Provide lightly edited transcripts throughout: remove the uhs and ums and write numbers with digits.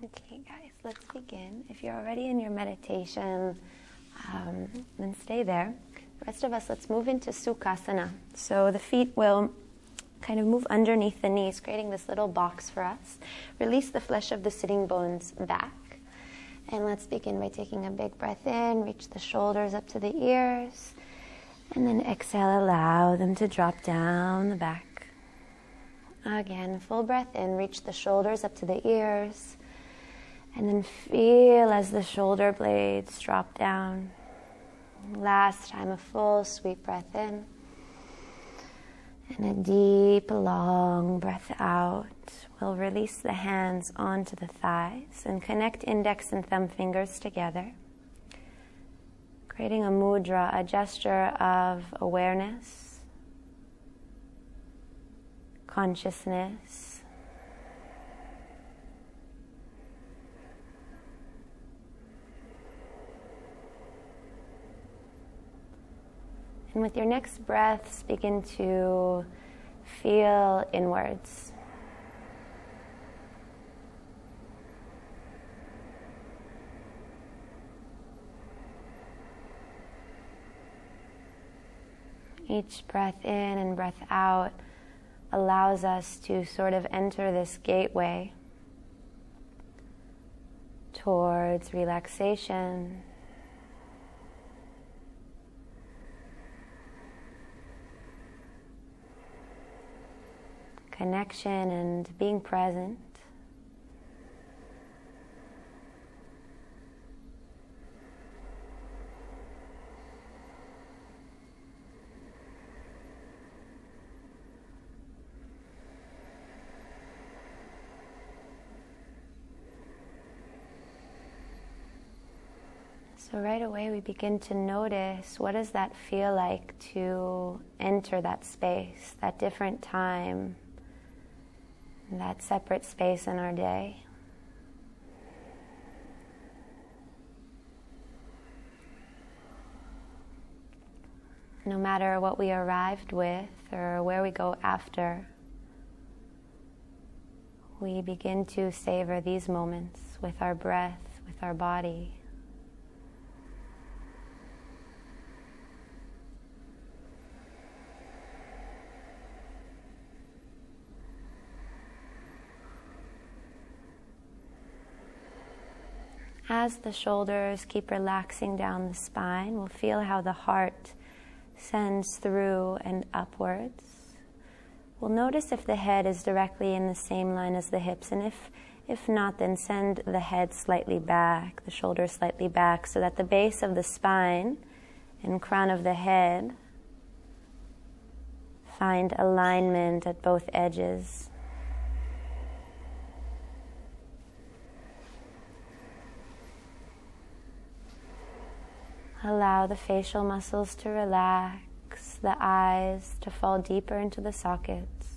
Okay, guys, let's begin. If you're already in your meditation, then stay there. The rest of us, let's move into Sukhasana. So the feet will kind of move underneath the knees, creating this little box for us. Release the flesh of the sitting bones back. And let's begin by taking a big breath in, reach the shoulders up to the ears, and then exhale, allow them to drop down the back. Again, full breath in, reach the shoulders up to the ears, and then feel as the shoulder blades drop down. Last time, a full sweet breath in. And a deep, long breath out. We'll release the hands onto the thighs and connect index and thumb fingers together. Creating a mudra, a gesture of awareness, consciousness, and with your next breaths, begin to feel inwards. Each breath in and breath out allows us to sort of enter this gateway towards relaxation, connection, and being present. So right away we begin to notice, what does that feel like to enter that space, that different time, that separate space in our day. No matter what we arrived with or where we go after, we begin to savor these moments with our breath, with our body. As the shoulders keep relaxing down the spine, we'll feel how the heart sends through and upwards. We'll notice if the head is directly in the same line as the hips, and if not, then send the head slightly back, the shoulders slightly back, so that the base of the spine and crown of the head find alignment at both edges. Allow the facial muscles to relax, the eyes to fall deeper into the sockets.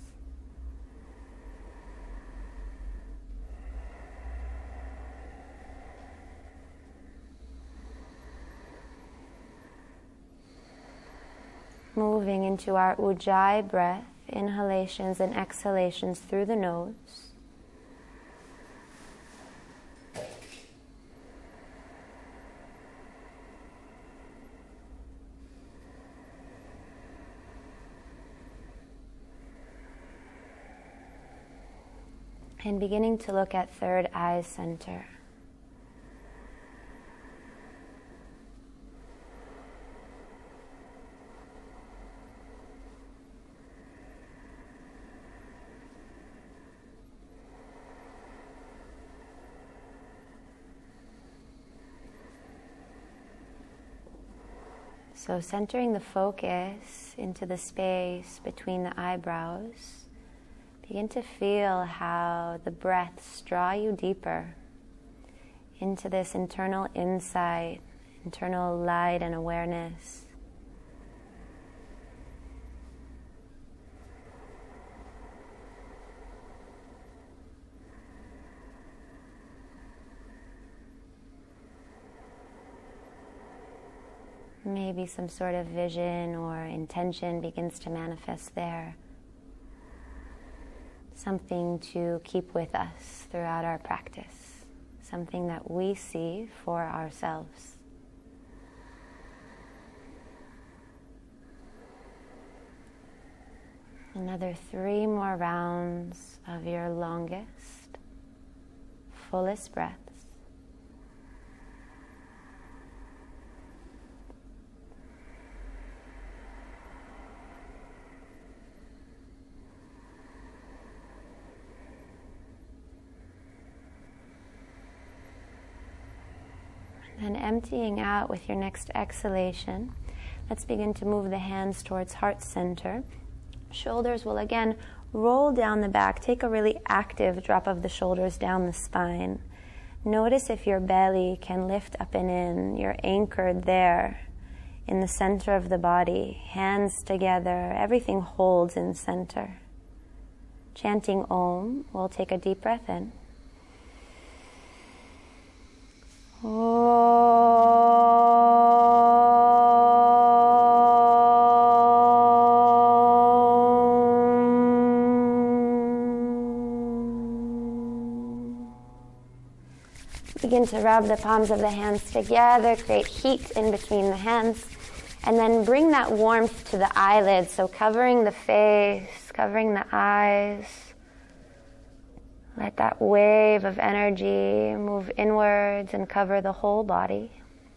Moving into our Ujjayi breath, inhalations and exhalations through the nose. And beginning to look at third eye center. So centering the focus into the space between the eyebrows. Begin to feel how the breaths draw you deeper into this internal insight, internal light and awareness. Maybe some sort of vision or intention begins to manifest there. Something to keep with us throughout our practice. something that we see for ourselves. Another 3 more rounds of your longest, fullest breaths. And emptying out with your next exhalation, let's begin to move the hands towards heart center. Shoulders will again roll down the back. Take a really active drop of the shoulders down the spine. Notice if your belly can lift up and in. You're anchored there in the center of the body. Hands together. Everything holds in center. Chanting Om, we'll take a deep breath in. Begin to rub the palms of the hands together, create heat in between the hands, and then bring that warmth to the eyelids, so covering the face, covering the eyes. Let that wave of energy move inwards and cover the whole body.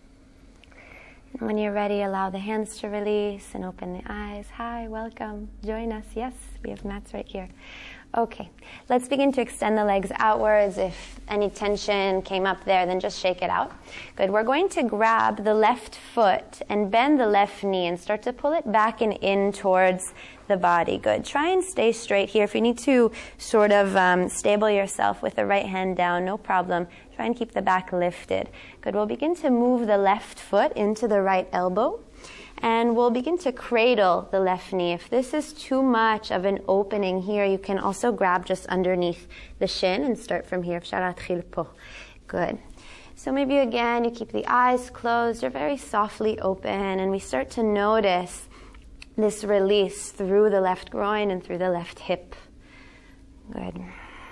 And when you're ready, allow the hands to release and open the eyes. Hi, welcome. Join us. Yes, we have mats right here. Okay, let's begin to extend the legs outwards. If any tension came up there, then just shake it out. Good. We're going to grab the left foot and bend the left knee and start to pull it back and in towards the body. Good. Try and stay straight here. If you need to sort of stable yourself with the right hand down, no problem. Try and keep the back lifted. Good. We'll begin to move the left foot into the right elbow. And we'll begin to cradle the left knee. If this is too much of an opening here, you can also grab just underneath the shin and start from here. Good. So maybe again, you keep the eyes closed. You're very softly open, and we start to notice this release through the left groin and through the left hip. Good.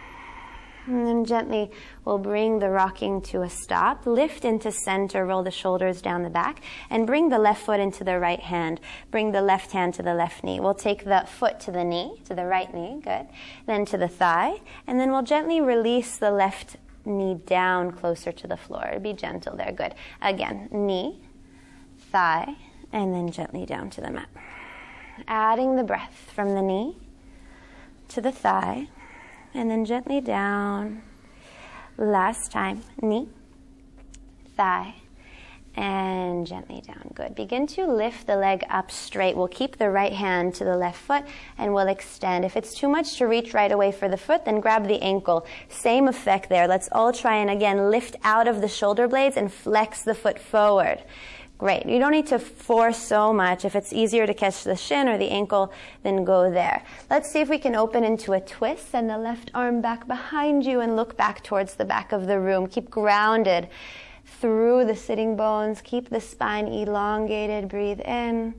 And then gently we'll bring the rocking to a stop. Lift into center, roll the shoulders down the back, and bring the left foot into the right hand. Bring the left hand to the left knee. We'll take the foot to the knee, to the right knee, good. Then to the thigh, and then we'll gently release the left knee down closer to the floor. Be gentle there, good. Again, knee, thigh, and then gently down to the mat. Adding the breath from the knee to the thigh, and then gently down. Last time, knee, thigh, and gently down. Good. Begin to lift the leg up straight. We'll keep the right hand to the left foot and we'll extend. If it's too much to reach right away for the foot, then grab the ankle. Same effect there. Let's all try and again lift out of the shoulder blades and flex the foot forward. Great. You don't need to force so much. If it's easier to catch the shin or the ankle, then go there. Let's see if we can open into a twist. Send the left arm back behind you and look back towards the back of the room. Keep grounded through the sitting bones. Keep the spine elongated. Breathe in.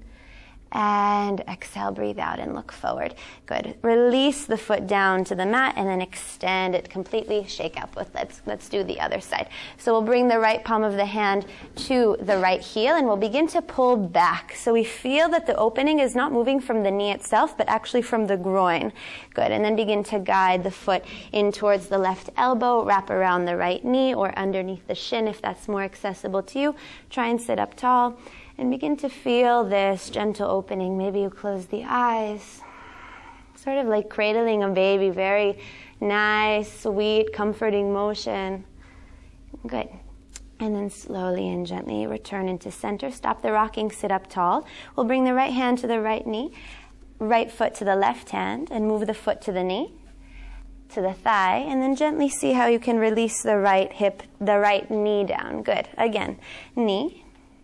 And exhale, breathe out and look forward. Good. Release the foot down to the mat and then extend it completely. Shake up with let's do the other side. So we'll bring the right palm of the hand to the right heel and we'll begin to pull back. So we feel that the opening is not moving from the knee itself, but actually from the groin. Good. And then begin to guide the foot in towards the left elbow, wrap around the right knee or underneath the shin if that's more accessible to you. Try and sit up tall. And begin to feel this gentle opening. Maybe you close the eyes. Sort of like cradling a baby. Very nice, sweet, comforting motion. Good. And then slowly and gently return into center. Stop the rocking, sit up tall. We'll bring the right hand to the right knee, right foot to the left hand, and move the foot to the knee, to the thigh, and then gently see how you can release the right hip, the right knee down. Good. Again, knee,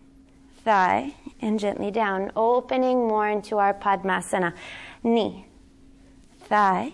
thigh, and gently down, opening more into our Padmasana. Knee, thigh,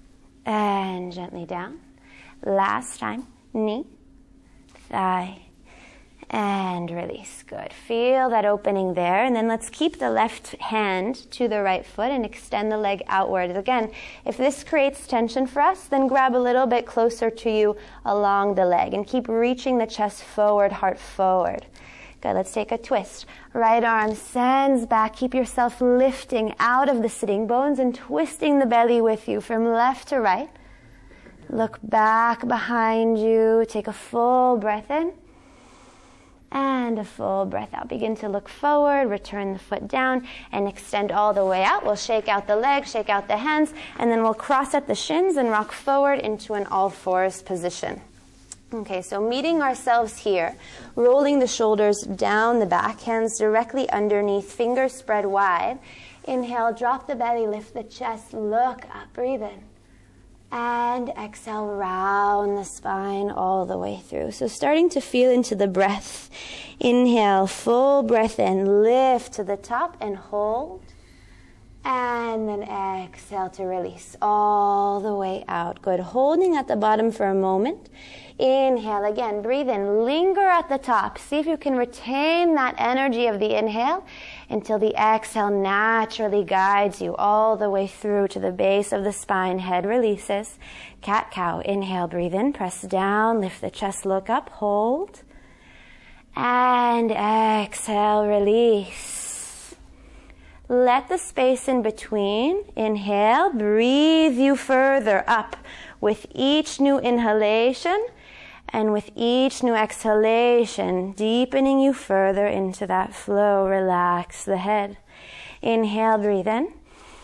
and gently down. Last time, knee, thigh, And release. Good. Feel that opening there. And then let's keep the left hand to the right foot and extend the leg outward. Again, if this creates tension for us, then grab a little bit closer to you along the leg and keep reaching the chest forward, heart forward. Good. Let's take a twist. Right arm sends back. Keep yourself lifting out of the sitting bones and twisting the belly with you from left to right. Look back behind you. Take a full breath in. And a full breath out. Begin to look forward, return the foot down, and extend all the way out. We'll shake out the legs, shake out the hands, and then we'll cross at the shins and rock forward into an all-fours position. Okay, so meeting ourselves here, rolling the shoulders down the back, hands directly underneath, fingers spread wide. Inhale, drop the belly, lift the chest, look up, breathe in. And exhale, round the spine all the way through. So starting to feel into the breath. Inhale, full breath in, lift to the top and hold. And then exhale to release all the way out. Good. Holding at the bottom for a moment. Inhale again, breathe in, linger at the top. See if you can retain that energy of the inhale until the exhale naturally guides you all the way through to the base of the spine. Head releases. Cat-cow. Inhale, breathe in, press down, lift the chest, look up, hold. And exhale, release. Let the space in between, inhale, breathe you further up with each new inhalation. And with each new exhalation, deepening you further into that flow, relax the head. Inhale, breathe in.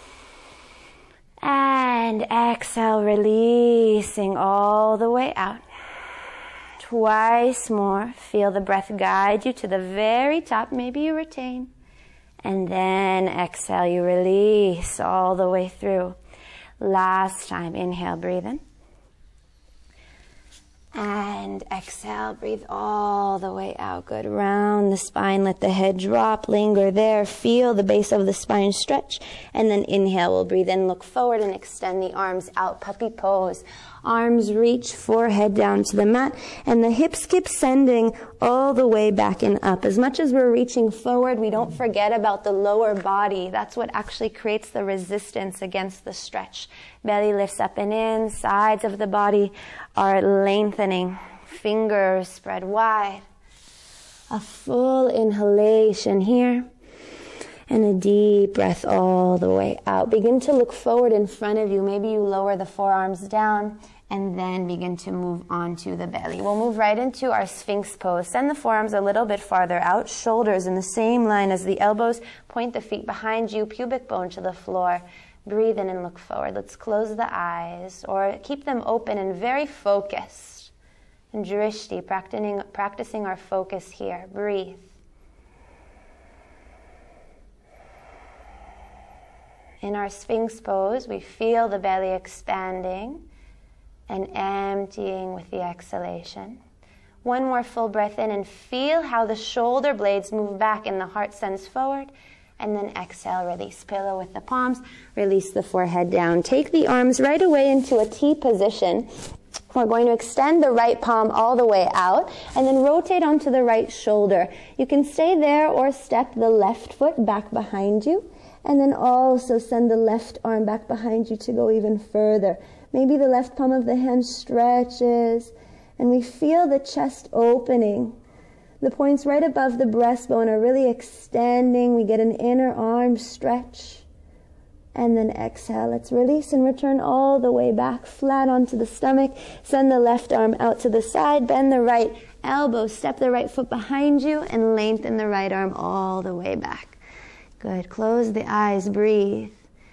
And exhale, releasing all the way out. Twice more. Feel the breath guide you to the very top. Maybe you retain. And then exhale, you release all the way through. Last time, inhale, breathe in. And exhale, breathe all the way out. Good. Round the spine, let the head drop, linger there, feel the base of the spine stretch. And then inhale, we'll breathe in, look forward and extend the arms out, puppy pose. Arms reach, forehead down to the mat, and the hips keep sending all the way back and up. As much as we're reaching forward, we don't forget about the lower body. That's what actually creates the resistance against the stretch. Belly lifts up and in, sides of the body are lengthening. Fingers spread wide. A full inhalation here. And a deep breath all the way out. Begin to look forward in front of you. Maybe you lower the forearms down and then begin to move onto the belly. We'll move right into our Sphinx pose. Send the forearms a little bit farther out. Shoulders in the same line as the elbows. Point the feet behind you. Pubic bone to the floor. Breathe in and look forward. Let's close the eyes or keep them open and very focused. And drishti, practicing our focus here. Breathe. In our Sphinx pose, we feel the belly expanding and emptying with the exhalation. One more full breath in and feel how the shoulder blades move back and the heart sends forward. And then exhale, release. Pillow with the palms, release the forehead down. Take the arms right away into a T position. We're going to extend the right palm all the way out and then rotate onto the right shoulder. You can stay there or step the left foot back behind you. And then also send the left arm back behind you to go even further. Maybe the left palm of the hand stretches. And we feel the chest opening. The points right above the breastbone are really extending. We get an inner arm stretch. And then exhale. Let's release and return all the way back, flat onto the stomach. Send the left arm out to the side. Bend the right elbow. Step the right foot behind you and lengthen the right arm all the way back. Good. Close the eyes. Breathe.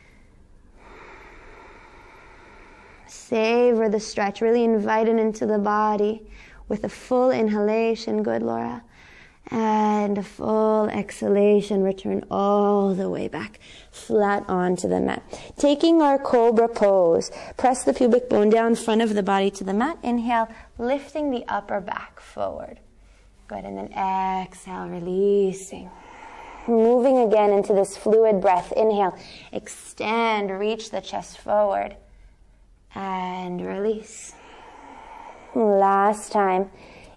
Savor the stretch. Really invite it into the body with a full inhalation. Good, Laura. And a full exhalation. Return all the way back. Flat onto the mat. Taking our cobra pose. Press the pubic bone down, front of the body to the mat. Inhale, lifting the upper back forward. Good. And then exhale, releasing. Moving again into this fluid breath. Inhale, extend, reach the chest forward, and release. Last time.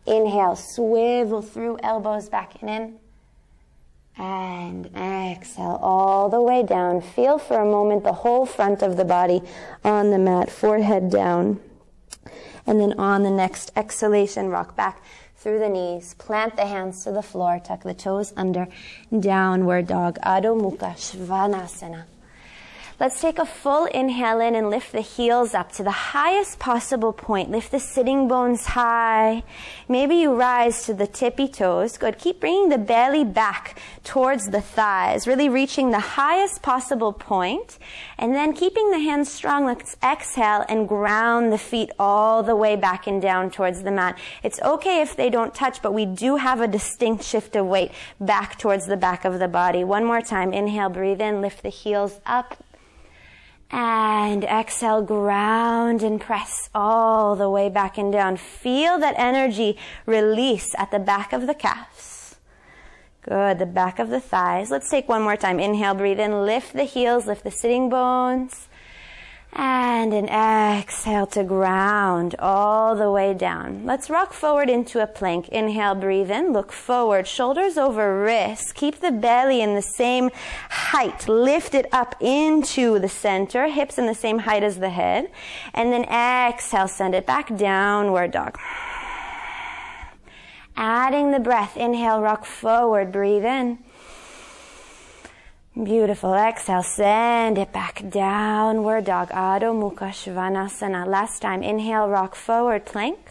Inhale, swivel through elbows back and in. And exhale all the way down. Feel for a moment the whole front of the body on the mat, forehead down. And then on the next exhalation, rock back through the knees. Plant the hands to the floor. Tuck the toes under. Downward dog. Adho Mukha Svanasana. Let's take a full inhale in and lift the heels up to the highest possible point. Lift the sitting bones high. Maybe you rise to the tippy toes. Good. Keep bringing the belly back towards the thighs, really reaching the highest possible point. And then keeping the hands strong, let's exhale and ground the feet all the way back and down towards the mat. It's okay if they don't touch, but we do have a distinct shift of weight back towards the back of the body. One more time. Inhale, breathe in, lift the heels up. And exhale, ground and press all the way back and down. Feel that energy release at the back of the calves. Good, the back of the thighs. Let's take one more time. Inhale, breathe in, lift the heels, lift the sitting bones. And an exhale to ground all the way down. Let's rock forward into a plank. Inhale, breathe in, look forward, shoulders over wrists. Keep the belly in the same height. Lift it up into the center, hips in the same height as the head. And then exhale, send it back, downward dog. Adding the breath. Inhale, rock forward, breathe in. Beautiful. Exhale, send it back, downward dog. Adho Mukha Svanasana. Last time. Inhale, rock forward, plank.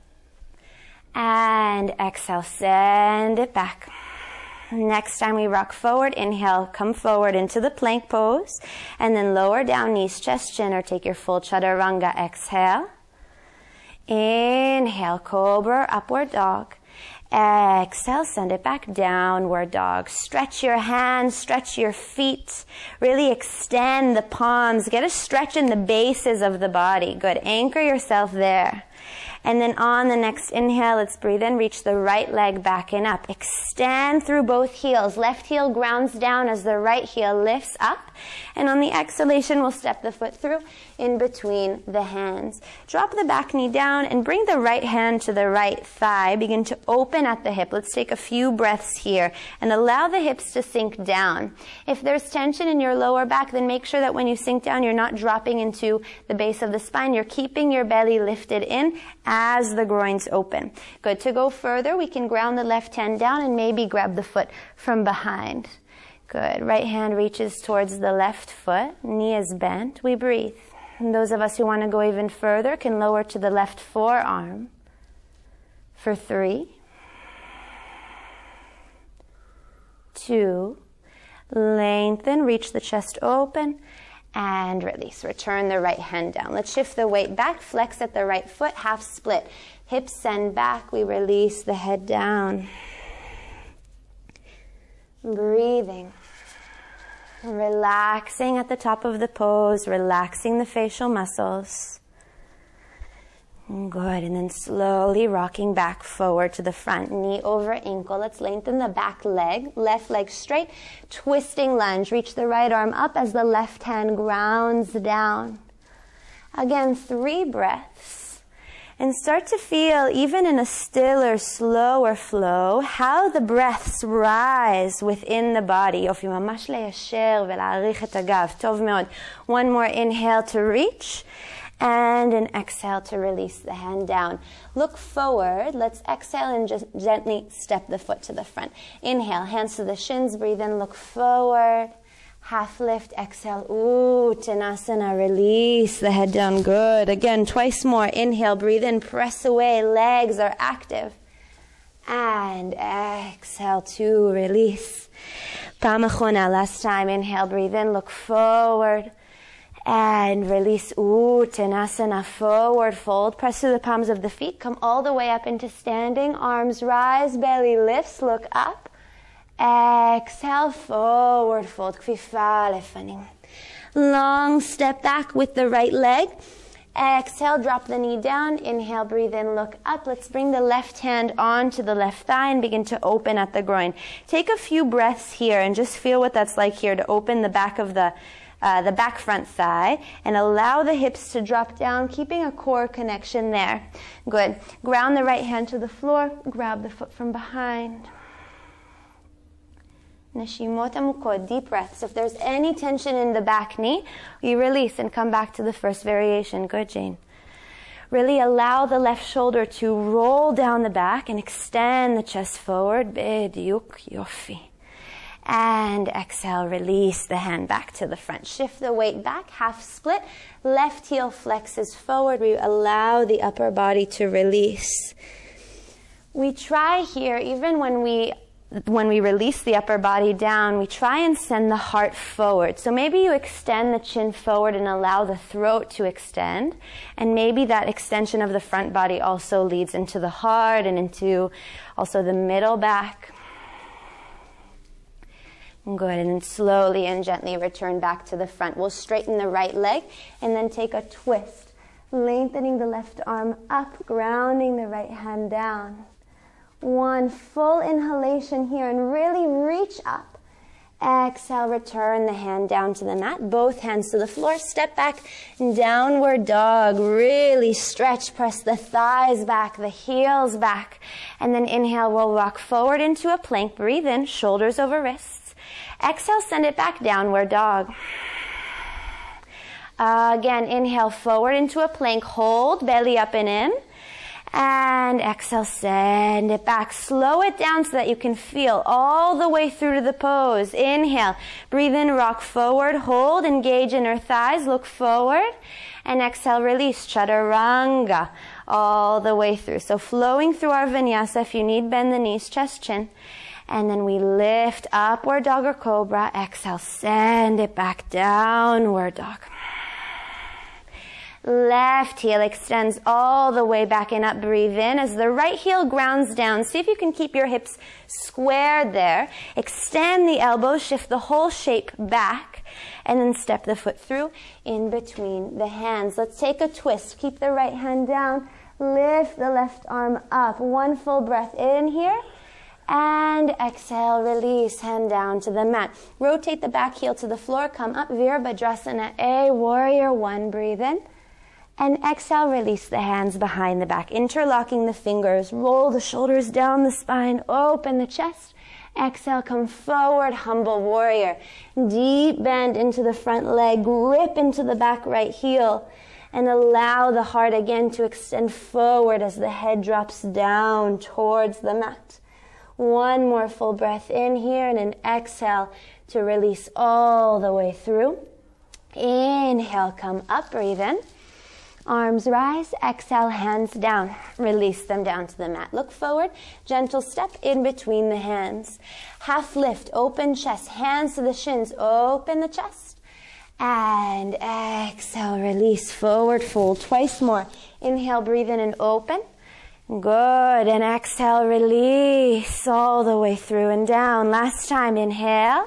And exhale, send it back. Next time we rock forward, inhale, come forward into the plank pose. And then lower down, knees, chest, chin, or take your full chaturanga. Exhale. Inhale, cobra, upward dog. Exhale, send it back, downward dog. Stretch your hands, stretch your feet. Really extend the palms. Get a stretch in the bases of the body. Good. Anchor yourself there. And then on the next inhale, let's breathe in, reach the right leg back and up. Extend through both heels. Left heel grounds down as the right heel lifts up. And on the exhalation, we'll step the foot through in between the hands. Drop the back knee down and bring the right hand to the right thigh. Begin to open at the hip. Let's take a few breaths here and allow the hips to sink down. If there's tension in your lower back, then make sure that when you sink down, you're not dropping into the base of the spine. You're keeping your belly lifted in as the groins open. Good. To go further, we can ground the left hand down and maybe grab the foot from behind. Good. Right hand reaches towards the left foot. Knee is bent. We breathe. And those of us who want to go even further can lower to the left forearm. For 3, 2, lengthen, reach the chest open. And release. Return the right hand down. Let's shift the weight back. Flex at the right foot. Half split. Hips send back. We release the head down. Breathing. Relaxing at the top of the pose. Relaxing the facial muscles. Good. And then slowly rocking back forward to the front. Knee over ankle. Let's lengthen the back leg. Left leg straight. Twisting lunge. Reach the right arm up as the left hand grounds down. Again, 3 breaths. And start to feel, even in a stiller, slower flow, how the breaths rise within the body. יופי, ממש ליישר ולהעריך את הגב. טוב מאוד. One more inhale to reach. And an exhale to release the hand down. Look forward. Let's exhale and just gently step the foot to the front. Inhale, hands to the shins. Breathe in, look forward. Half lift, exhale. Uttanasana, release the head down. Good. Again, twice more. Inhale, breathe in, press away. Legs are active. And exhale to release. Pam achona, last time. Inhale, breathe in, look forward. And release. Uttanasana, forward fold. Press through the palms of the feet. Come all the way up into standing. Arms rise, belly lifts, look up. Exhale, forward fold. Kfifa lefanim. Long step back with the right leg. Exhale, drop the knee down. Inhale, breathe in, look up. Let's bring the left hand onto the left thigh and begin to open at the groin. Take a few breaths here and just feel what that's like here to open the back of the the back front thigh, and allow the hips to drop down, keeping a core connection there. Good. Ground the right hand to the floor, grab the foot from behind. Neshimot amukot, deep breaths. If there's any tension in the back knee, you release and come back to the first variation. Good, Jane. Really allow the left shoulder to roll down the back and extend the chest forward. Bediuk, yofi. And exhale, release the hand back to the front. Shift the weight back, half split. Left heel flexes forward. We allow the upper body to release. We try here, even when we release the upper body down, we try and send the heart forward. So maybe you extend the chin forward and allow the throat to extend. And maybe that extension of the front body also leads into the heart and into also the middle back. Good, and then slowly and gently return back to the front. We'll straighten the right leg and then take a twist. Lengthening the left arm up, grounding the right hand down. One full inhalation here and really reach up. Exhale, return the hand down to the mat. Both hands to the floor. Step back, downward dog. Really stretch, press the thighs back, the heels back. And then inhale, we'll rock forward into a plank. Breathe in, shoulders over wrists. Exhale, send it back, downward dog. Again, inhale forward into a plank. Hold, belly up and in. And exhale, send it back. Slow it down so that you can feel all the way through to the pose. Inhale, breathe in, rock forward, hold, engage inner thighs, look forward. And exhale, release, chaturanga, all the way through. So flowing through our vinyasa. If you need, bend the knees, chest, chin. And then we lift, upward dog or cobra. Exhale, send it back, downward dog. Left heel extends all the way back and up. Breathe in as the right heel grounds down. See if you can keep your hips squared there. Extend the elbows, shift the whole shape back, and then step the foot through in between the hands. Let's take a twist. Keep the right hand down. Lift the left arm up. One full breath in here. And exhale, release, hand down to the mat. Rotate the back heel to the floor. Come up, Virabhadrasana A, warrior one. Breathe in. And exhale, release the hands behind the back. Interlocking the fingers. Roll the shoulders down the spine. Open the chest. Exhale, come forward, humble warrior. Deep bend into the front leg. Grip into the back right heel. And allow the heart again to extend forward as the head drops down towards the mat. One more full breath in here and an exhale to release all the way through. Inhale, come up, breathe in. Arms rise, exhale, hands down. Release them down to the mat. Look forward, gentle step in between the hands. Half lift, open chest, hands to the shins, open the chest. And exhale, release, forward fold. Twice more. Inhale, breathe in and open. Good, and exhale, release all the way through and down. Last time, inhale.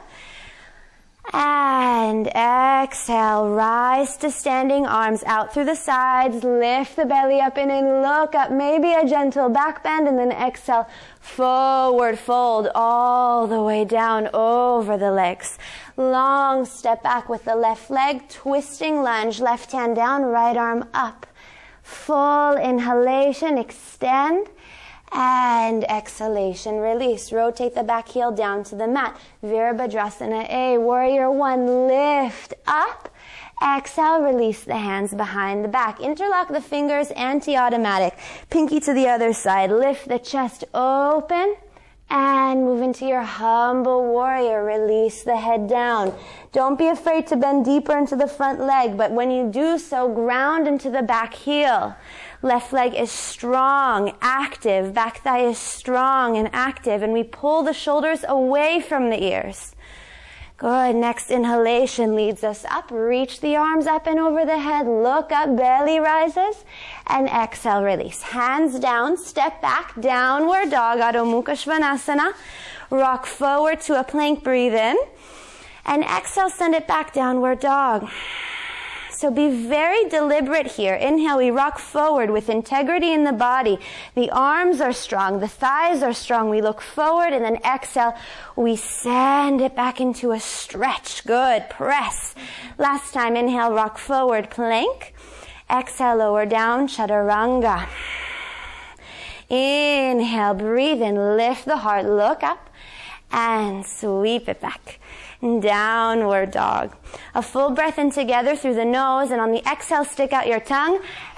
And exhale, rise to standing, arms out through the sides, lift the belly up in and look up, maybe a gentle back bend, and then exhale, forward fold all the way down over the legs. Long step back with the left leg, twisting lunge, left hand down, right arm up. Full inhalation, extend, and exhalation, release. Rotate the back heel down to the mat. Virabhadrasana A, warrior one, lift up. Exhale, release the hands behind the back. Interlock the fingers, anti-automatic. Pinky to the other side. Lift the chest open. And move into your humble warrior. Release the head down. Don't be afraid to bend deeper into the front leg, but when you do so, ground into the back heel. Left leg is strong, active. Back thigh is strong and active. And we pull the shoulders away from the ears. Good. Next inhalation leads us up. Reach the arms up and over the head. Look up, belly rises. And exhale, release. Hands down, step back, downward dog, Adho Mukha Svanasana. Rock forward to a plank, breathe in. And exhale, send it back, downward dog. So be very deliberate here. Inhale, we rock forward with integrity in the body. The arms are strong. The thighs are strong. We look forward, and then exhale. We send it back into a stretch. Good. Press. Last time, inhale, rock forward, plank. Exhale, lower down, chaturanga. Inhale, breathe in, lift the heart, look up, and sweep it back. Downward dog. A full breath in together through the nose, and on the exhale, stick out your tongue.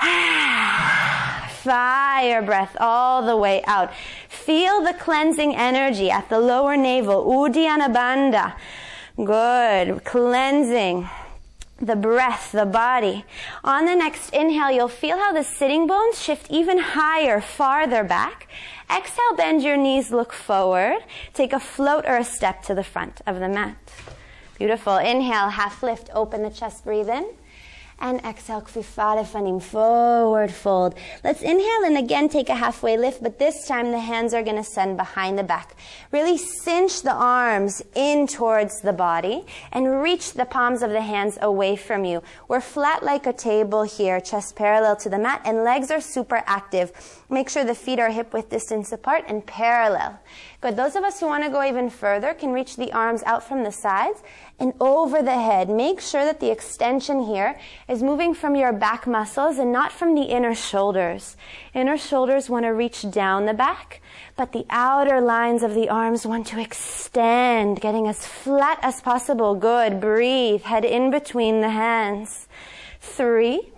Fire breath all the way out. Feel the cleansing energy at the lower navel, Uddiyana Bandha. Good. Cleansing the breath, the body. On the next inhale, you'll feel how the sitting bones shift even higher, farther back. Exhale, bend your knees, look forward. Take a float or a step to the front of the mat. Beautiful. Inhale, half lift, open the chest, breathe in. And exhale, Kfifat Lefanim, forward fold. Let's inhale and again take a halfway lift, but this time the hands are going to send behind the back. Really cinch the arms in towards the body and reach the palms of the hands away from you. We're flat like a table here, chest parallel to the mat, and legs are super active. Make sure the feet are hip-width distance apart and parallel. Good. Those of us who want to go even further can reach the arms out from the sides and over the head. Make sure that the extension here is moving from your back muscles and not from the inner shoulders. Inner shoulders want to reach down the back, but the outer lines of the arms want to extend, getting as flat as possible. Good. Breathe. Head in between the hands. 3,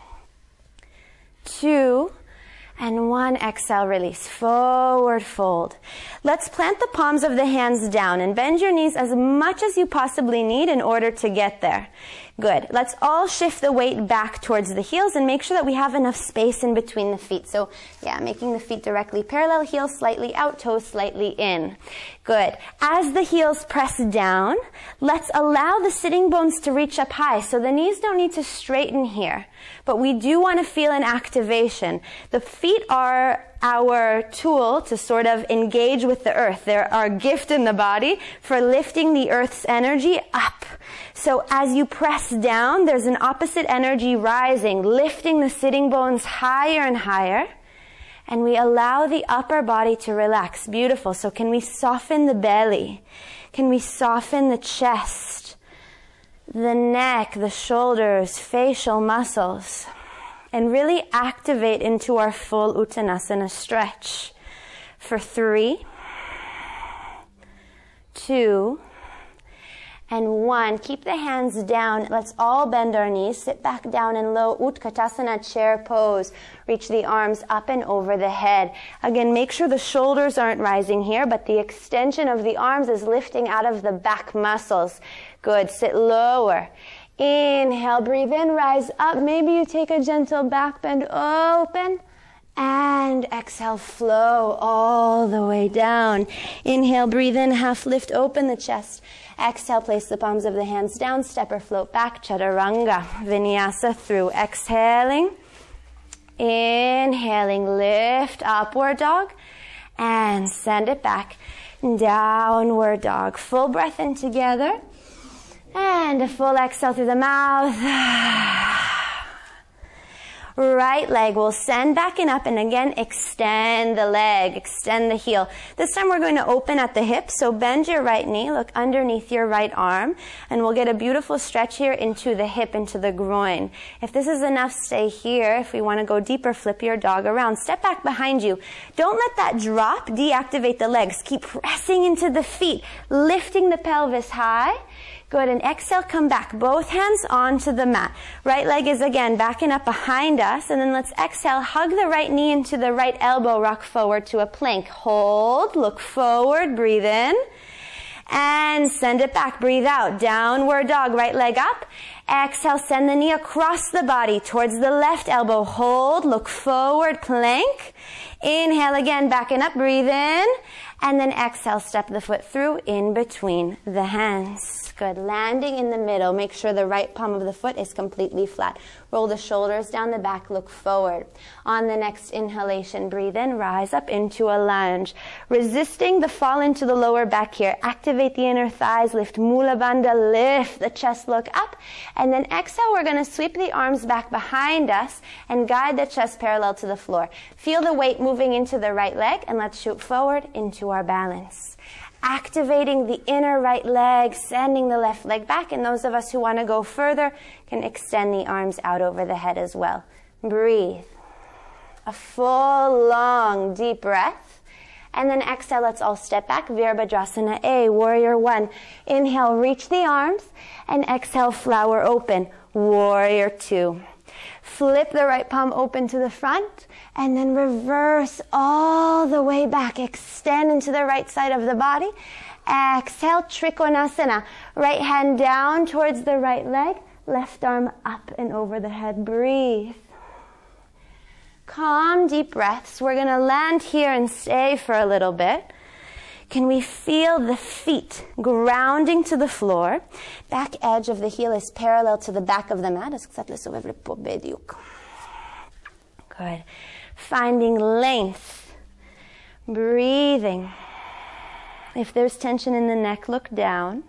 2, and 1, exhale, release, forward fold. Let's plant the palms of the hands down and bend your knees as much as you possibly need in order to get there. Good. Let's all shift the weight back towards the heels and make sure that we have enough space in between the feet. So, yeah, making the feet directly parallel, heels slightly out, toes slightly in. Good. As the heels press down, let's allow the sitting bones to reach up high. So the knees don't need to straighten here, but we do want to feel an activation. The feet are our tool to sort of engage with the earth. They're our gift in the body for lifting the earth's energy up. So as you press down, there's an opposite energy rising, lifting the sitting bones higher and higher. And we allow the upper body to relax. Beautiful. So can we soften the belly? Can we soften the chest, the neck, the shoulders, facial muscles? And really activate into our full Uttanasana stretch. For 3, 2, and 1. Keep the hands down. Let's all bend our knees. Sit back down in low Utkatasana chair pose. Reach the arms up and over the head. Again, make sure the shoulders aren't rising here, but the extension of the arms is lifting out of the back muscles. Good. Sit lower. Inhale, breathe in, rise up. Maybe you take a gentle back bend, open. And exhale, flow all the way down. Inhale, breathe in, half lift, open the chest. Exhale, place the palms of the hands down, step or float back, chaturanga, vinyasa through. Exhaling, inhaling, lift, upward dog, and send it back, downward dog. Full breath in together. And a full exhale through the mouth. Right leg will send back and up, and again extend the leg, extend the heel. This time we're going to open at the hips, so bend your right knee, look underneath your right arm, and we'll get a beautiful stretch here into the hip, into the groin. If this is enough, stay here. If we want to go deeper, flip your dog around. Step back behind you. Don't let that drop deactivate the legs. Keep pressing into the feet, lifting the pelvis high. Good, and exhale, come back. Both hands onto the mat. Right leg is again backing up behind us, and then let's exhale, hug the right knee into the right elbow, rock forward to a plank. Hold, look forward, breathe in, and send it back. Breathe out, downward dog, right leg up. Exhale, send the knee across the body towards the left elbow. Hold, look forward, plank. Inhale again, backing up, breathe in, And then exhale, step the foot through in between the hands. Good. Landing in the middle. Make sure the right palm of the foot is completely flat. Roll the shoulders down the back, look forward. On the next inhalation, breathe in, rise up into a lunge. Resisting the fall into the lower back here. Activate the inner thighs, lift Mula Bandha, lift the chest, look up. And then exhale, we're going to sweep the arms back behind us and guide the chest parallel to the floor. Feel the weight moving into the right leg, and let's shoot forward into our balance. Activating the inner right leg, sending the left leg back, and those of us who want to go further can extend the arms out over the head as well. Breathe. A full, long, deep breath. And then exhale, let's all step back. Virabhadrasana A, Warrior One. Inhale, reach the arms, and exhale, flower open. Warrior Two. Flip the right palm open to the front, and then reverse all the way back. Extend into the right side of the body. Exhale, Trikonasana. Right hand down towards the right leg. Left arm up and over the head. Breathe. Calm, deep breaths. We're going to land here and stay for a little bit. Can we feel the feet grounding to the floor? Back edge of the heel is parallel to the back of the mat. Good. Finding length. Breathing. If there's tension in the neck, look down.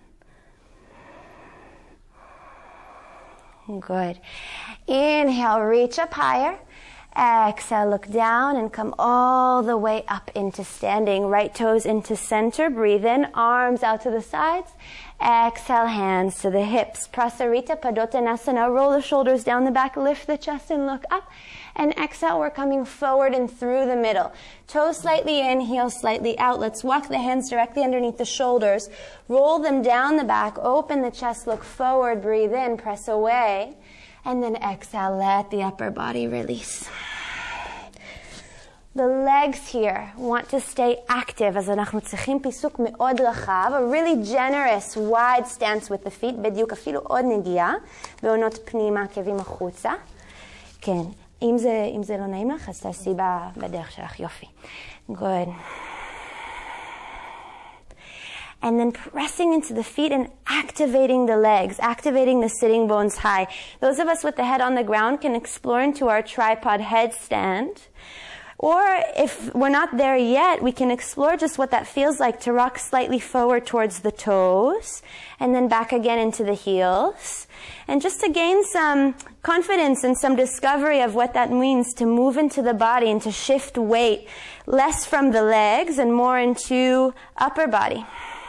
Good. Inhale, reach up higher. Exhale, look down and come all the way up into standing. Right toes into center. Breathe in, arms out to the sides. Exhale, hands to the hips. Prasarita Padottanasana. Roll the shoulders down the back, lift the chest and look up. And exhale, we're coming forward and through the middle. Toes slightly in, heels slightly out. Let's walk the hands directly underneath the shoulders. Roll them down the back, open the chest, look forward, breathe in, press away. And then exhale, let the upper body release. The legs here want to stay active, as אנחנו צריכים פיסוק מאוד רחב, a really generous, wide stance with the feet, בדיוק אפילו עוד נגיעה, ועונות פנימה, עקבים החוצה. כן, אם זה לא נעים לך, אז תעשי בדרך שלך, יופי. Good. And then pressing into the feet and activating the legs, activating the sitting bones high. Those of us with the head on the ground can explore into our tripod headstand. Or if we're not there yet, we can explore just what that feels like to rock slightly forward towards the toes and then back again into the heels. And just to gain some confidence and some discovery of what that means to move into the body and to shift weight less from the legs and more into upper body.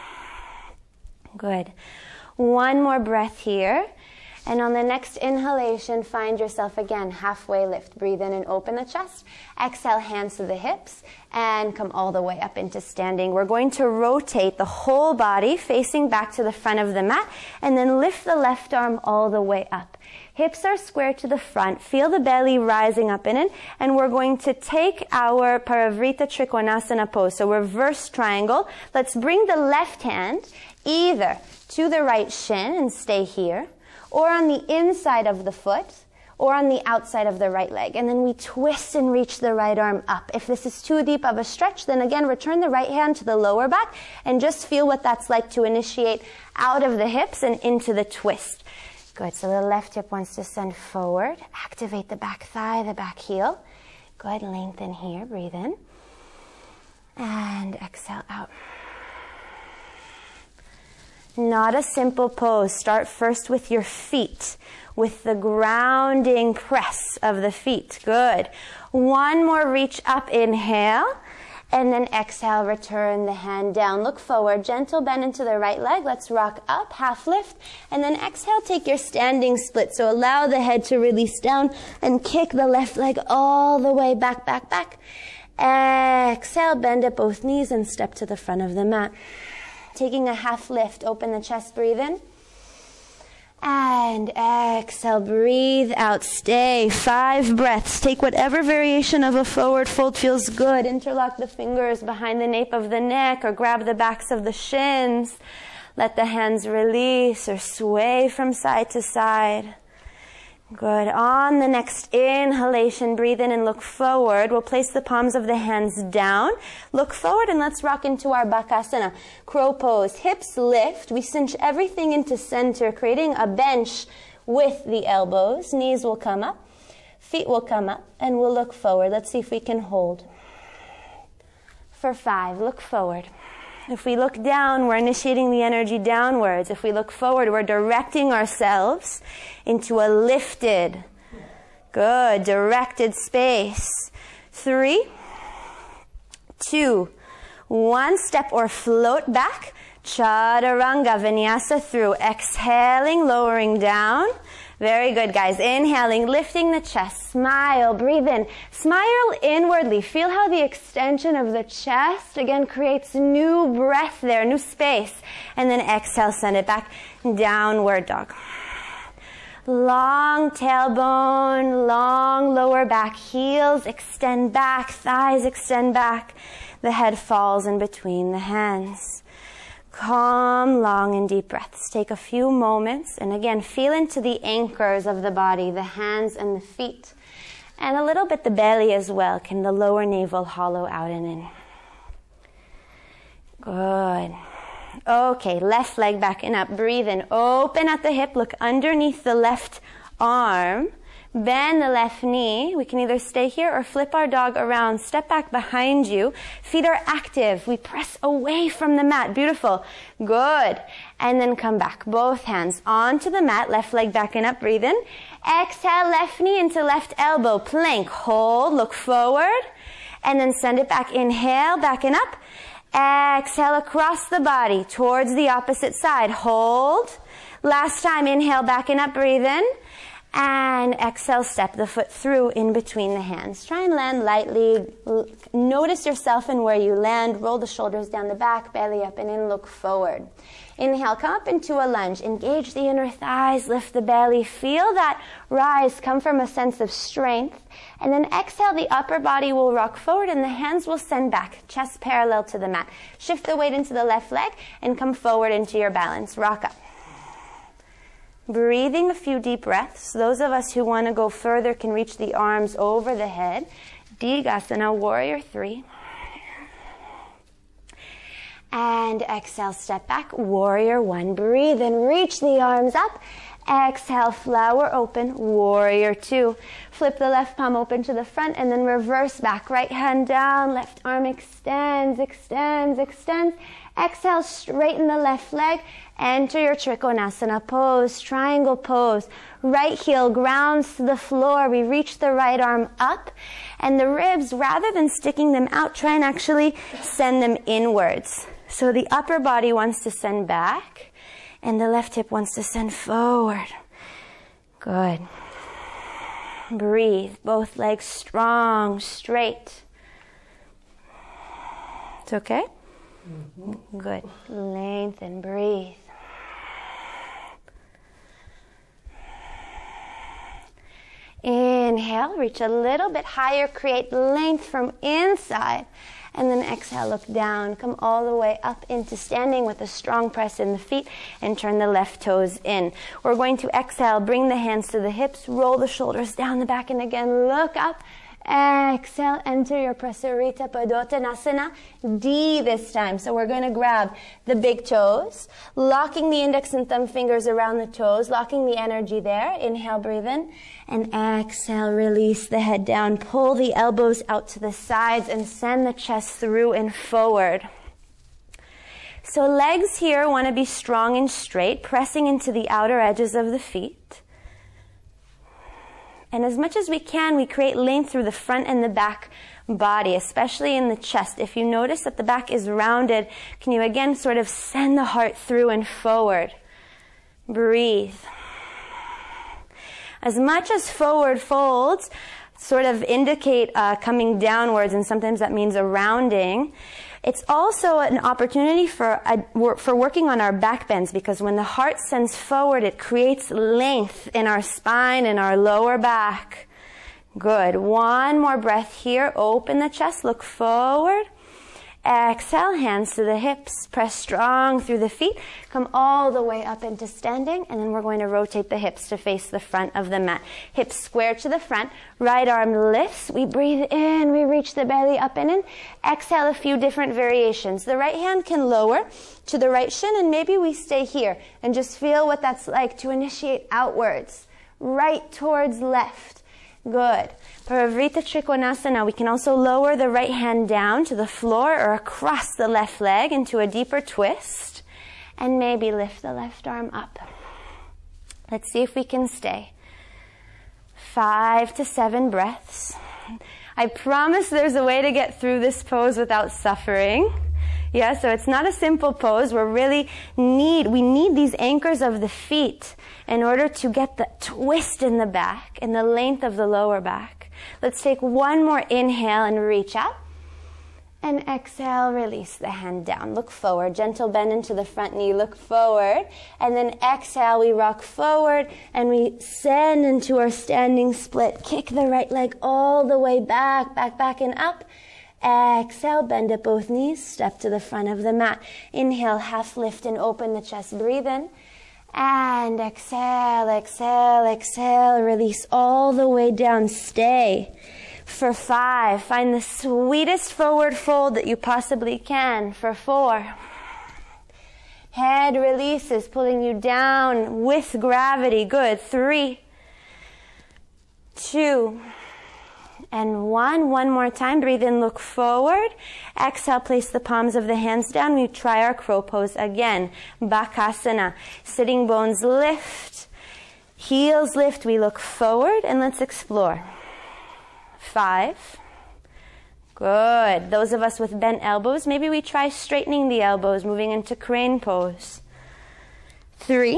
Good. One more breath here. And on the next inhalation, find yourself again, halfway lift. Breathe in and open the chest. Exhale, hands to the hips, and come all the way up into standing. We're going to rotate the whole body facing back to the front of the mat, and then lift the left arm all the way up. Hips are square to the front. Feel the belly rising up in it, and we're going to take our Parivrita Trikonasana pose, so reverse triangle. Let's bring the left hand either to the right shin and stay here, or on the inside of the foot, or on the outside of the right leg. And then we twist and reach the right arm up. If this is too deep of a stretch, then again, return the right hand to the lower back and just feel what that's like to initiate out of the hips and into the twist. Good, so the left hip wants to send forward. Activate the back thigh, the back heel. Good, lengthen here, breathe in. And exhale out. Not a simple pose. Start first with your feet, with the grounding press of the feet. Good. One more reach up, inhale, and then exhale, return the hand down. Look forward, gentle bend into the right leg. Let's rock up, half lift, and then exhale, take your standing split. So allow the head to release down and kick the left leg all the way back, back, back. Exhale, bend at both knees and step to the front of the mat. Taking a half lift, open the chest, breathe in. And exhale, breathe out, stay. 5 breaths. Take whatever variation of a forward fold feels good. Interlock the fingers behind the nape of the neck or grab the backs of the shins. Let the hands release or sway from side to side. Good. On the next inhalation, breathe in and look forward. We'll place the palms of the hands down. Look forward and let's rock into our Bakasana. Crow pose. Hips lift. We cinch everything into center, creating a bench with the elbows. Knees will come up. Feet will come up and we'll look forward. Let's see if we can hold. For 5, look forward. If we look down, we're initiating the energy downwards. If we look forward, we're directing ourselves into a lifted, good, directed space. 3, 2, 1. Step or float back. Chaturanga Vinyasa through. Exhaling, lowering down. Very good, guys. Inhaling, lifting the chest. Smile, breathe in. Smile inwardly. Feel how the extension of the chest, again, creates new breath there, new space. And then exhale, send it back. Downward dog. Long tailbone, long lower back. Heels extend back, thighs extend back. The head falls in between the hands. Calm, long and deep breaths. Take a few moments and again feel into the anchors of the body, the hands and the feet. And a little bit the belly as well. Can the lower navel hollow out and in? Good. Okay, left leg back and up. Breathe in. Open at the hip. Look underneath the left arm. Bend the left knee. We can either stay here or flip our dog around. Step back behind you. Feet are active. We press away from the mat. Beautiful. Good. And then come back. Both hands onto the mat. Left leg back and up. Breathe in. Exhale, left knee into left elbow. Plank. Hold. Look forward. And then send it back. Inhale, back and up. Exhale across the body towards the opposite side. Hold. Last time. Inhale, back and up. Breathe in. And exhale, step the foot through in between the hands. Try and land lightly. Notice yourself and where you land. Roll the shoulders down the back, belly up and in, look forward. Inhale, come up into a lunge. Engage the inner thighs, lift the belly. Feel that rise come from a sense of strength. And then exhale, the upper body will rock forward and the hands will send back, chest parallel to the mat. Shift the weight into the left leg and come forward into your balance. Rock up. Breathing a few deep breaths. Those of us who want to go further can reach the arms over the head. Digasana, warrior 3. And exhale, step back, warrior 1. Breathe and reach the arms up. Exhale, flower open, warrior 2. Flip the left palm open to the front and then reverse back. Right hand down, left arm extends, extends, extends. Exhale, straighten the left leg. Enter your Trikonasana pose, triangle pose. Right heel grounds to the floor. We reach the right arm up. And the ribs, rather than sticking them out, try and actually send them inwards. So the upper body wants to send back. And the left hip wants to send forward. Good. Breathe. Both legs strong, straight. It's okay? Mm-hmm. Good. Lengthen, breathe. Inhale, reach a little bit higher, create length from inside. And then exhale, look down, come all the way up into standing with a strong press in the feet and turn the left toes in. We're going to exhale, bring the hands to the hips, roll the shoulders down the back, and again, look up. Exhale, enter your Prasarita Padottanasana, D this time. So we're going to grab the big toes, locking the index and thumb fingers around the toes, locking the energy there. Inhale, breathe in, and exhale, release the head down. Pull the elbows out to the sides and send the chest through and forward. So legs here want to be strong and straight, pressing into the outer edges of the feet. And as much as we can, we create length through the front and the back body, especially in the chest. If you notice that the back is rounded, can you again sort of send the heart through and forward? Breathe. As much as forward folds sort of indicate coming downwards, and sometimes that means a rounding, it's also an opportunity for working on our back bends, because when the heart sends forward, it creates length in our spine and our lower back. Good. One more breath here. Open the chest, look forward. Exhale, hands to the hips, press strong through the feet, come all the way up into standing, and then we're going to rotate the hips to face the front of the mat. Hips square to the front, right arm lifts, we breathe in, we reach the belly up and in. Exhale, a few different variations. The right hand can lower to the right shin, and maybe we stay here and just feel what that's like to initiate outwards, right towards left. Good. Parivrita Trikonasana, we can also lower the right hand down to the floor or across the left leg into a deeper twist, and maybe lift the left arm up. Let's see if we can stay. 5 to 7 breaths. I promise there's a way to get through this pose without suffering. Yeah, so it's not a simple pose. We need these anchors of the feet in order to get the twist in the back and the length of the lower back. Let's take one more inhale and reach out. And exhale, release the hand down. Look forward, gentle bend into the front knee, look forward. And then exhale, we rock forward and we send into our standing split. Kick the right leg all the way back, back and up. Exhale, bend at both knees, step to the front of the mat. Inhale, half lift and open the chest, breathe in. And exhale, exhale, exhale, release all the way down, stay. For 5, find the sweetest forward fold that you possibly can. For 4, head releases, pulling you down with gravity. Good. 3, 2, and 1. One more time. Breathe in, look forward. Exhale, place the palms of the hands down. We try our crow pose again. Bakasana. Sitting bones lift. Heels lift. We look forward and let's explore. 5. Good. Those of us with bent elbows, maybe we try straightening the elbows, moving into crane pose. 3,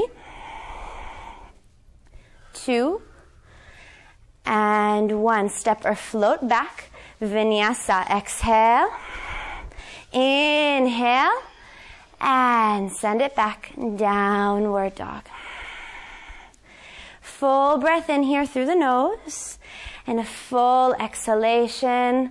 2, and 1. Step or float back. Vinyasa. Exhale. Inhale. And send it back. Downward dog. Full breath in here through the nose. And a full exhalation.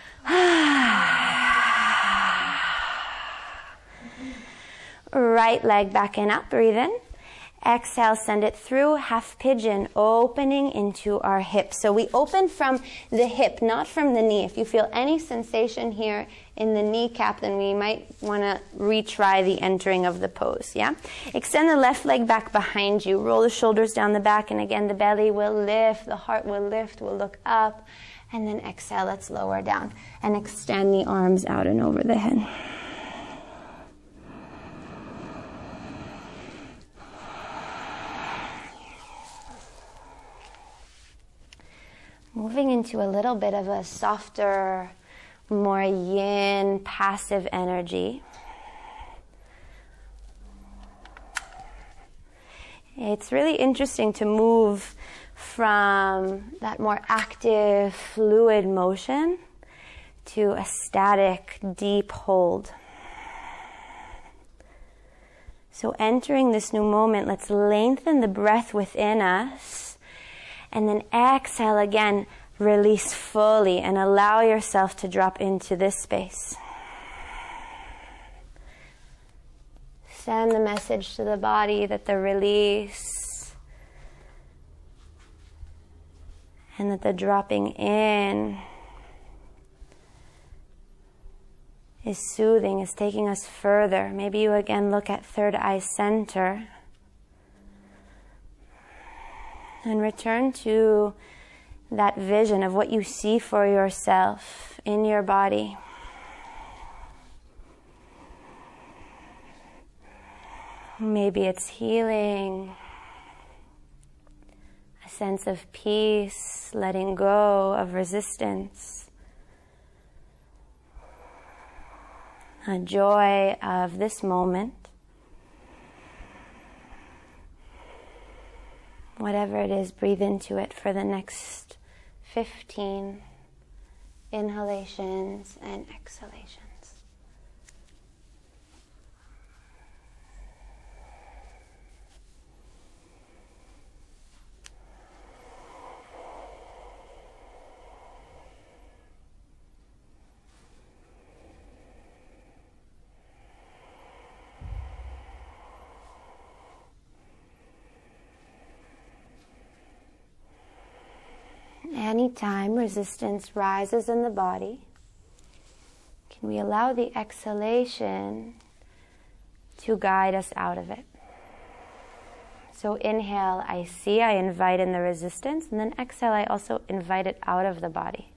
Right leg back and up. Breathe in. Exhale, send it through, half pigeon, opening into our hips. So we open from the hip, not from the knee. If you feel any sensation here in the kneecap, then we might want to retry the entering of the pose, yeah? Extend the left leg back behind you. Roll the shoulders down the back, and again, the belly will lift, the heart will lift, we'll look up, and then exhale, let's lower down, and extend the arms out and over the head. Moving into a little bit of a softer, more yin, passive energy. It's really interesting to move from that more active, fluid motion to a static, deep hold. So entering this new moment, let's lengthen the breath within us. And then exhale again, release fully and allow yourself to drop into this space. Send the message to the body that the release and that the dropping in is soothing, is taking us further. Maybe you again look at third eye center. And return to that vision of what you see for yourself in your body. Maybe it's healing, a sense of peace, letting go of resistance, a joy of this moment. Whatever it is, breathe into it for the next 15 inhalations and exhalations. time resistance rises in the body, can we allow the exhalation to guide us out of it? So inhale, I see, I invite in the resistance, and then exhale, I also invite it out of the body.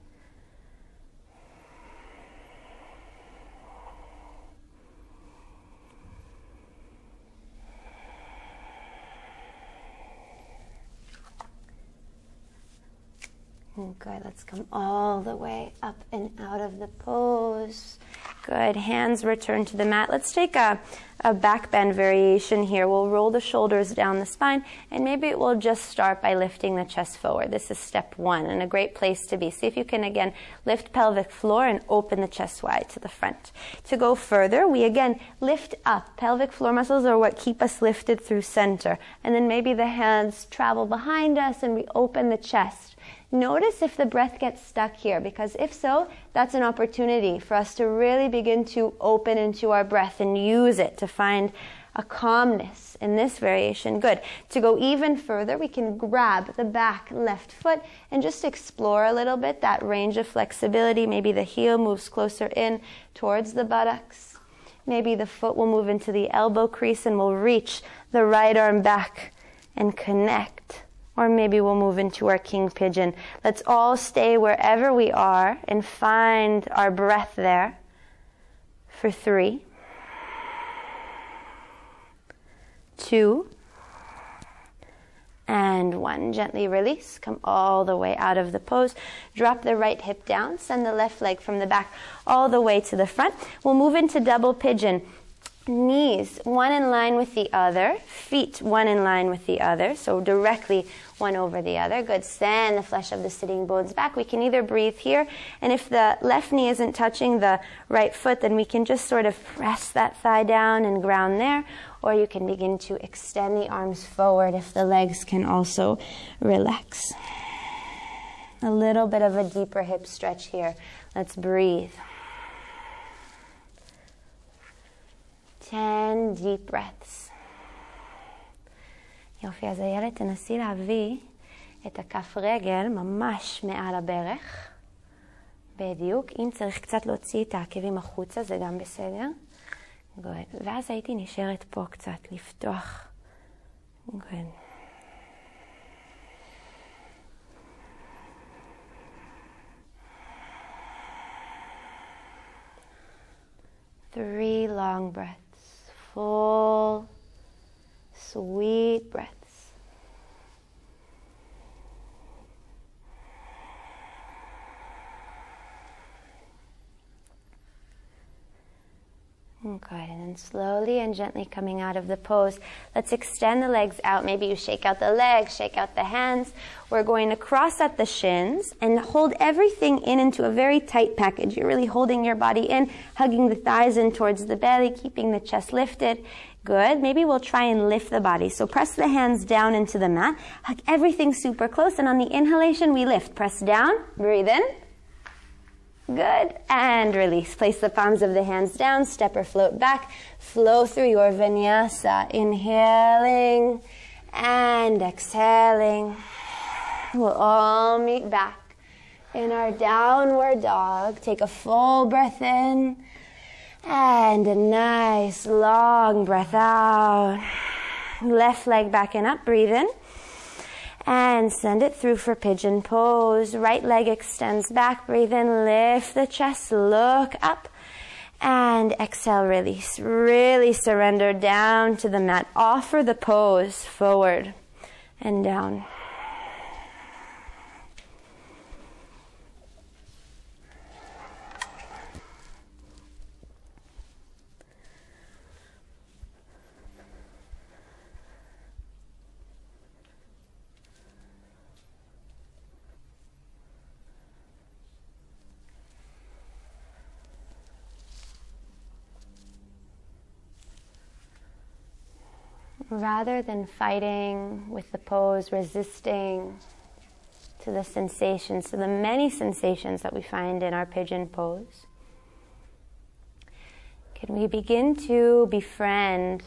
Good, let's come all the way up and out of the pose. Good, hands return to the mat. Let's take a back bend variation here. We'll roll the shoulders down the spine, and maybe we'll just start by lifting the chest forward. This is step one, and a great place to be. See if you can, again, lift pelvic floor and open the chest wide to the front. To go further, we again lift up. Pelvic floor muscles are what keep us lifted through center. And then maybe the hands travel behind us, and we open the chest. Notice if the breath gets stuck here, because if so, that's an opportunity for us to really begin to open into our breath and use it to find a calmness in this variation. Good. To go even further, we can grab the back left foot and just explore a little bit that range of flexibility. Maybe the heel moves closer in towards the buttocks. Maybe the foot will move into the elbow crease and we'll reach the right arm back and connect. Or maybe we'll move into our king pigeon. Let's all stay wherever we are and find our breath there for 3, 2, and 1. Gently release. Come all the way out of the pose. Drop the right hip down. Send the left leg from the back all the way to the front. We'll move into double pigeon. Knees, one in line with the other. Feet, one in line with the other. So directly one over the other. Good. Send the flesh of the sitting bones back. We can either breathe here, and if the left knee isn't touching the right foot, then we can just sort of press that thigh down and ground there. Or you can begin to extend the arms forward if the legs can also relax. A little bit of a deeper hip stretch here. Let's breathe. 10 deep breaths. יופי, אז הילד תנסי להביא את הכף רגל ממש מעל הברך. בדיוק. אם צריך קצת להוציא את העקבים החוצה, זה גם בסדר. Good. ואז הייתי נשארת פה קצת, לפתוח. Good. Three long breaths, full, sweet breaths. Good, and then slowly and gently coming out of the pose, let's extend the legs out. Maybe you shake out the legs, shake out the hands. We're going to cross at the shins and hold everything in into a very tight package. You're really holding your body in, hugging the thighs in towards the belly, keeping the chest lifted. Good. Maybe we'll try and lift the body. So press the hands down into the mat, hug everything super close, and on the inhalation we lift. Press down, breathe in. Good. And release. Place the palms of the hands down. Step or float back. Flow through your vinyasa. Inhaling and exhaling. We'll all meet back in our downward dog. Take a full breath in and a nice long breath out. Left leg back and up. Breathe in. And send it through for pigeon pose. Right leg extends back. Breathe in, lift the chest, look up. And exhale, release. Really surrender down to the mat. Offer the pose forward and down. Rather than fighting with the pose, resisting to the sensations, to the many sensations that we find in our pigeon pose, can we begin to befriend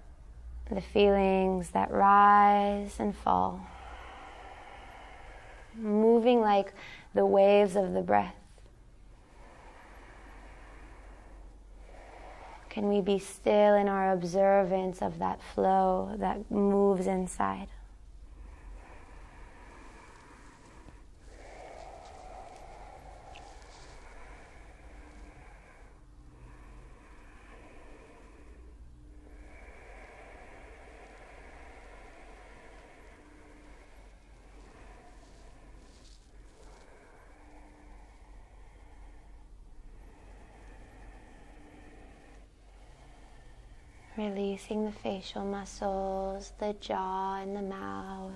the feelings that rise and fall? moving like the waves of the breath. Can we be still in our observance of that flow that moves inside? Releasing the facial muscles, the jaw and the mouth.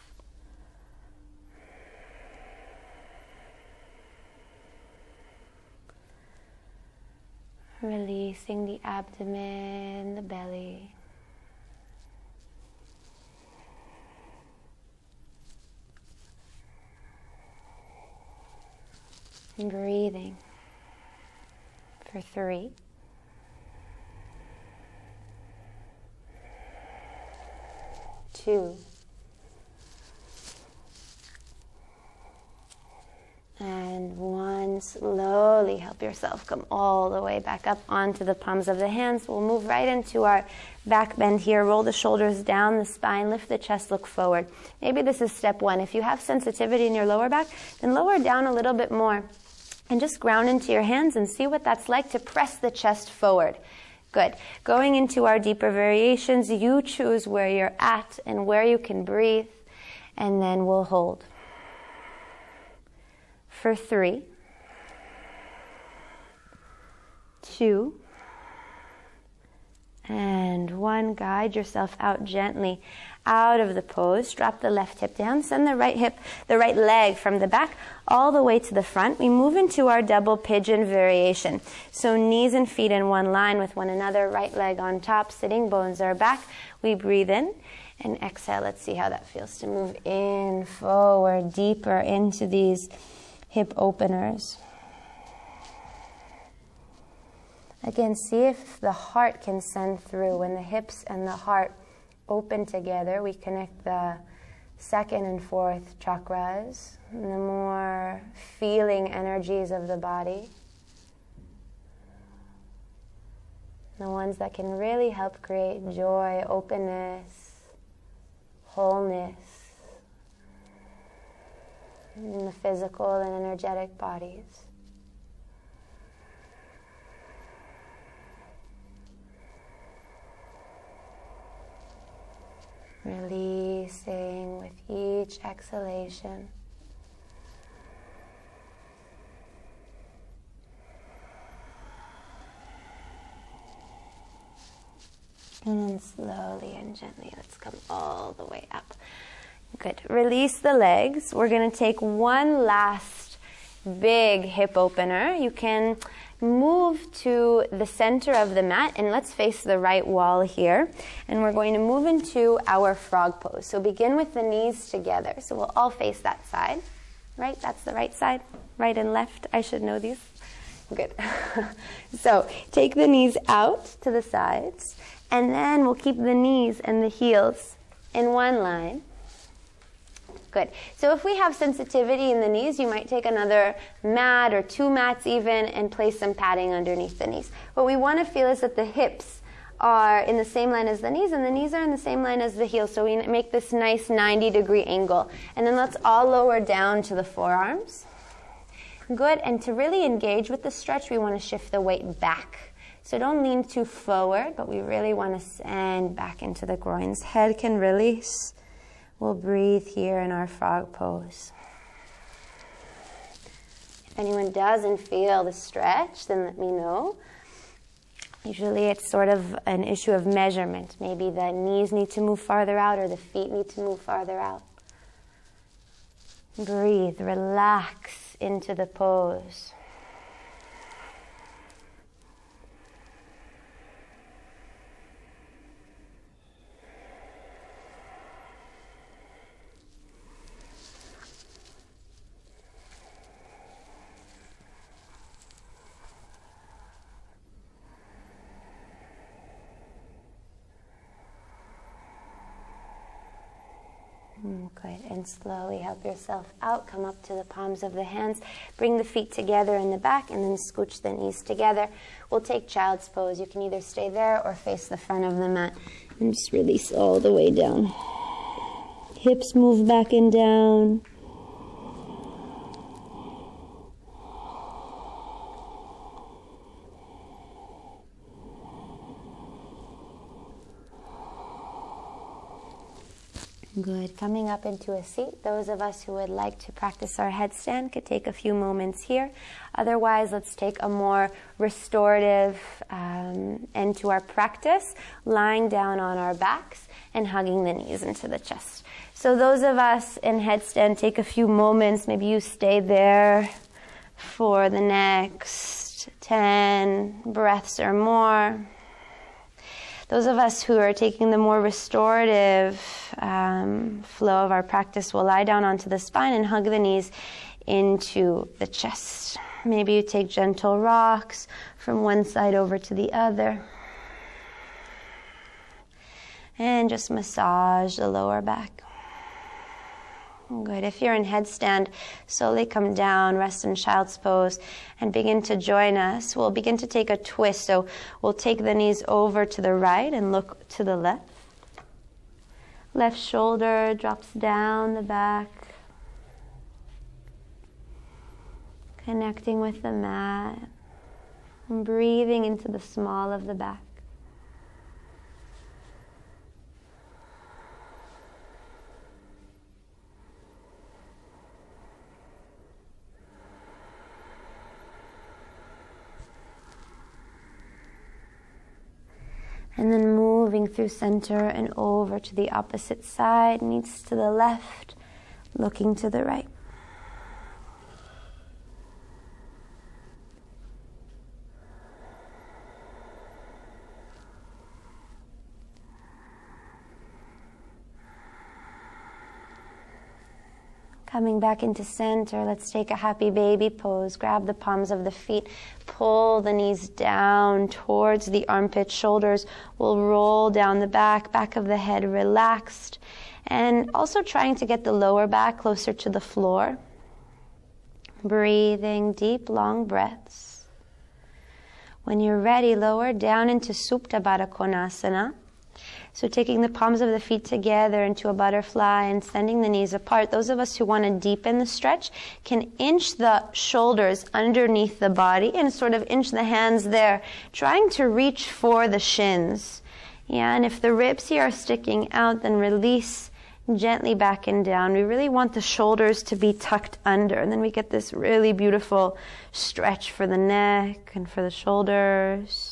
Releasing the abdomen, the belly. And breathing for 3. 2. And 1. Slowly help yourself come all the way back up onto the palms of the hands. We'll move right into our back bend here. Roll the shoulders down the spine, lift the chest, look forward. Maybe this is step 1. If you have sensitivity in your lower back, then lower down a little bit more and just ground into your hands and see what that's like to press the chest forward. Good. Going into our deeper variations, you choose where you're at and where you can breathe, and then we'll hold. For 3, 2, and 1. Guide yourself out gently out of the pose. Drop the left hip down. Send the right leg from the back all the way to the front. We move into our double pigeon variation. So knees and feet in one line with one another. Right leg on top. Sitting bones are back. We breathe in and exhale. Let's see how that feels to move in, forward, deeper into these hip openers. Again, see if the heart can send through. When the hips and the heart open together, we connect the 2nd and 4th chakras, and the more feeling energies of the body. The ones that can really help create joy, openness, wholeness in the physical and energetic bodies. Releasing with each exhalation. And then slowly and gently, let's come all the way up. Good. Release the legs. We're going to take one last big hip opener. You can move to the center of the mat, and let's face the right wall here. And we're going to move into our frog pose. So begin with the knees together. So we'll all face that side, right? That's the right side, right and left. I should know these. Good. So take the knees out to the sides, and then we'll keep the knees and the heels in one line. Good. So if we have sensitivity in the knees, you might take another mat or 2 mats even and place some padding underneath the knees. What we want to feel is that the hips are in the same line as the knees, and the knees are in the same line as the heels. So we make this nice 90-degree angle. And then let's all lower down to the forearms. Good. And to really engage with the stretch, we want to shift the weight back. So don't lean too forward, but we really want to send back into the groins. Head can release. We'll breathe here in our frog pose. If anyone doesn't feel the stretch, then let me know. Usually it's sort of an issue of measurement. Maybe the knees need to move farther out or the feet need to move farther out. Breathe, relax into the pose. Good. And can slowly help yourself out. Come up to the palms of the hands. Bring the feet together in the back and then scooch the knees together. We'll take child's pose. You can either stay there or face the front of the mat. And just release all the way down. Hips move back and down. Good. Coming up into a seat. Those of us who would like to practice our headstand could take a few moments here. Otherwise, let's take a more restorative end to our practice, lying down on our backs and hugging the knees into the chest. So those of us in headstand, take a few moments. Maybe you stay there for the next 10 breaths or more. Those of us who are taking the more restorative flow of our practice will lie down onto the spine and hug the knees into the chest. Maybe you take gentle rocks from one side over to the other. And just massage the lower back. Good. If you're in headstand, slowly come down, rest in child's pose, and begin to join us. We'll begin to take a twist. So we'll take the knees over to the right and look to the left. Left shoulder drops down the back. Connecting with the mat. And breathing into the small of the back. And then moving through center and over to the opposite side, knees to the left, looking to the right. Coming back into center, let's take a happy baby pose. Grab the palms of the feet, pull the knees down towards the armpit. Shoulders will roll down the back of the head relaxed. And also trying to get the lower back closer to the floor. Breathing deep, long breaths. When you're ready, lower down into Supta Baddha Konasana. So taking the palms of the feet together into a butterfly and sending the knees apart. Those of us who want to deepen the stretch can inch the shoulders underneath the body and sort of inch the hands there, trying to reach for the shins. Yeah, and if the ribs here are sticking out, then release gently back and down. We really want the shoulders to be tucked under, and then we get this really beautiful stretch for the neck and for the shoulders.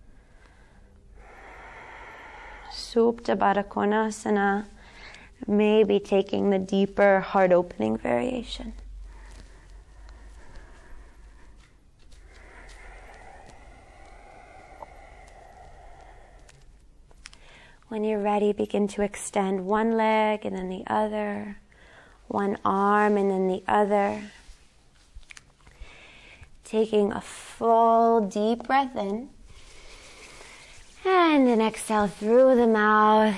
Supta Baddha Konasana, maybe taking the deeper heart opening variation. When you're ready, begin to extend one leg and then the other, one arm and then the other. Taking a full deep breath in. And then exhale through the mouth.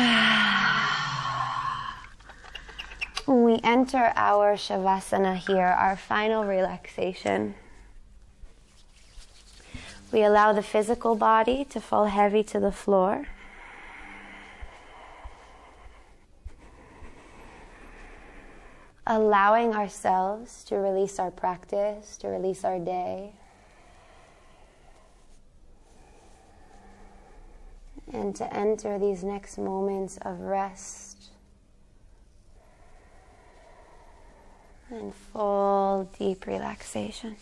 We enter our Shavasana here, our final relaxation. We allow the physical body to fall heavy to the floor. Allowing ourselves to release our practice, to release our day. And to enter these next moments of rest and full deep relaxation.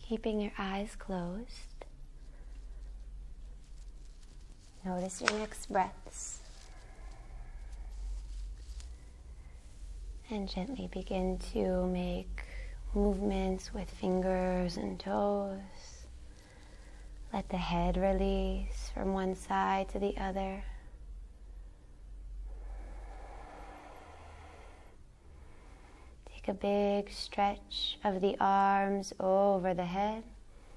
Keeping your eyes closed. Notice your next breaths. And gently begin to make movements with fingers and toes. Let the head release from one side to the other. Take a big stretch of the arms over the head.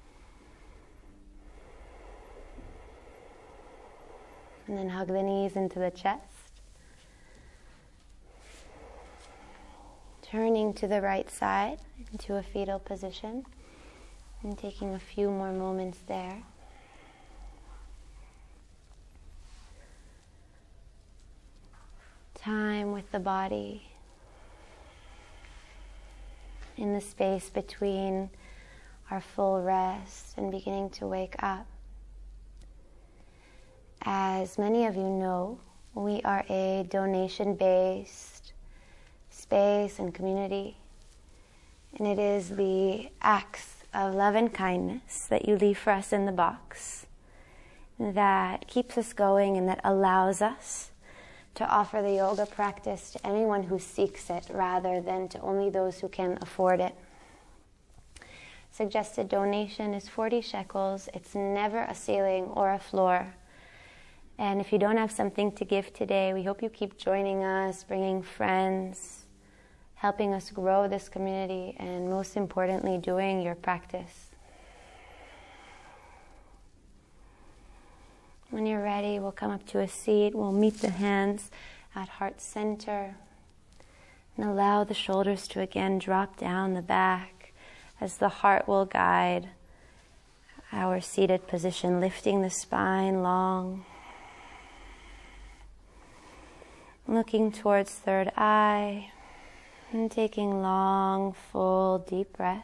And then hug the knees into the chest. Turning to the right side into a fetal position and taking a few more moments there. Time with the body in the space between our full rest and beginning to wake up. As many of you know, we are a donation-based space and community, and it is the acts of love and kindness that you leave for us in the box that keeps us going and that allows us to offer the yoga practice to anyone who seeks it rather than to only those who can afford it. Suggested donation is 40 shekels. It's never a ceiling or a floor. And if you don't have something to give today, we hope you keep joining us, bringing friends, helping us grow this community, and most importantly, doing your practice. When you're ready, we'll come up to a seat. We'll meet the hands at heart center and allow the shoulders to again drop down the back as the heart will guide our seated position, lifting the spine long. Looking towards third eye and taking long, full, deep breaths.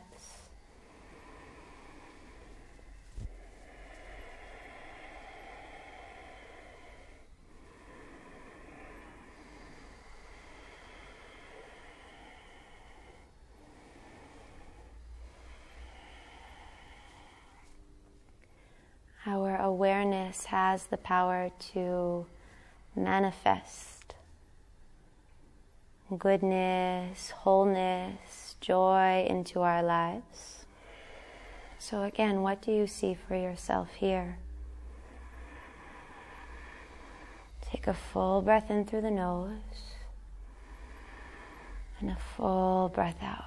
Our awareness has the power to manifest goodness, wholeness, joy into our lives. So again, what do you see for yourself here? Take a full breath in through the nose and a full breath out.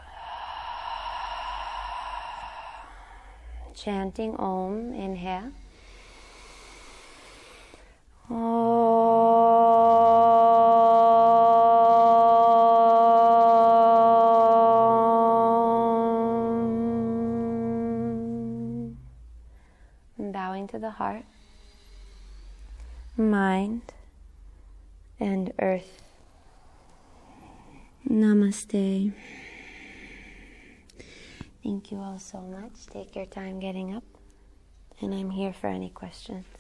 Chanting Om, inhale. Bowing to the heart, mind, and earth. Namaste. Thank you all so much. Take your time getting up, and I'm here for any questions.